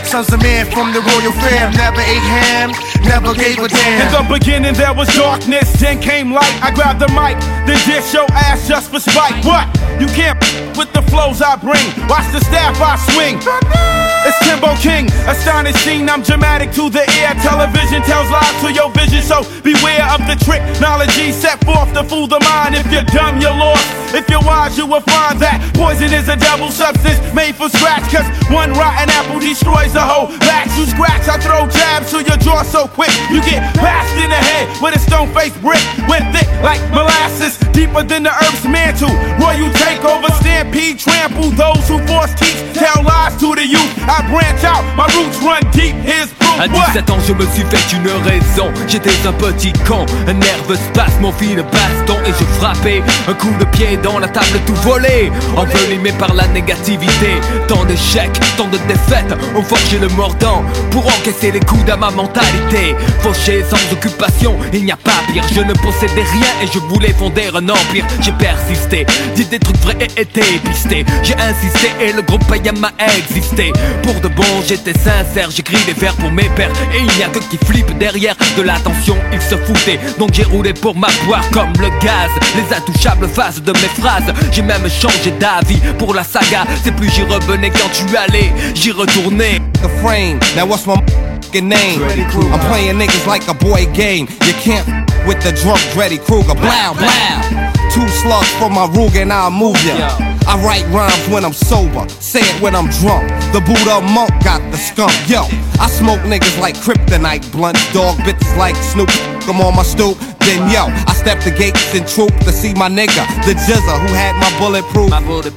Sons of man from the royal fam. Never ate ham, never gave a damn. In the beginning there was darkness, then came light. I grabbed the mic, then dish your ass just for spite. What? You can't with the flows I bring. Watch the staff I swing. It's Timbo King, astonishing, I'm dramatic to the ear. Television tells lies to your vision, so beware of the trick. Knowledge set forth to fool the mind. If you're dumb, you're lost. If you're wise, you will find that poison is a double substance made for scratch. Cause one rotten apple destroys the whole batch. You scratch, I throw jabs to your jaw so quick. You get bashed in the head with a stone-faced brick. Went thick like molasses, deeper than the earth's mantle. Royal takeover, stampede, trample those who force teach. Tell lies to the youth. I branch out, my roots run deep, here's proof. À 17 ans je me suis fait une raison. J'étais un petit con, un nerveux spasme, mon fil de baston. Et je frappais un coup de pied dans la table tout volé. Envenimé par la négativité. Tant d'échecs, tant de défaites ont forgé le mordant pour encaisser les coups à ma mentalité. Fauché sans occupation, il n'y a pas pire. Je ne possédais rien et je voulais fonder un empire. J'ai persisté, dit des trucs vrais et été pisté. J'ai insisté et le groupe Payama a existé. Pour de bon j'étais sincère, j'écris des vers pour mes pères. Et il n'y a que qui flippe derrière de l'attention, ils se foutaient. Donc j'ai roulé pour m'avoir comme le gaz. Les intouchables phases de mes phrases. J'ai même changé d'avis pour la saga. C'est plus j'y revenais quand tu allais, j'y retournais. The frame, now what's my name? I'm playing niggas like a boy game. You can't with the drunk Dreddy Kruger. Blow, blow. 2 slugs for my Ruger and I'll move ya. I write rhymes when I'm sober, say it when I'm drunk. The Buddha monk got the skunk. Yo, I smoke niggas like kryptonite blunts. Dog bitches like Snoop. I'm on my stoop. Then yo, I step the gates and troop to see my nigga, the Jizza, who had my bulletproof.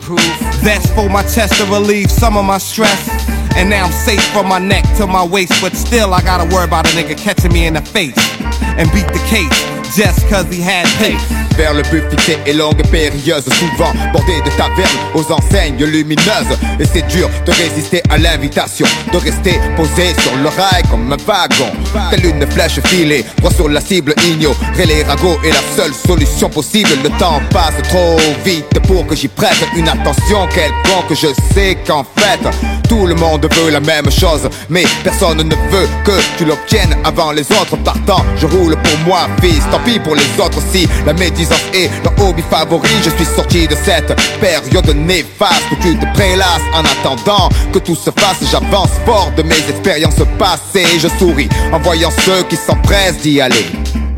That's for my chest to relieve some of my stress. And now I'm safe from my neck to my waist. But still I gotta worry about a nigga catching me in the face and beat the case just cause he had pace. Vers le but fixé et longue et périlleuse, souvent bordée de tavernes aux enseignes lumineuses. Et c'est dur de résister à l'invitation, de rester posé sur le rail comme un wagon. Telle une flèche filée, droit sur la cible, ignorer les ragots est la seule solution possible. Le temps passe trop vite pour que j'y prête une attention quelconque. Je sais qu'en fait, tout le monde veut la même chose, mais personne ne veut que tu l'obtiennes avant les autres. Partant, je roule pour moi, fils, tant pis pour les autres. Si la médisance est leur hobby favori, je suis sorti de cette période néfaste où tu te prélasses en attendant que tout se fasse. J'avance fort de mes expériences passées. Je souris en voyant ceux qui s'empressent d'y aller.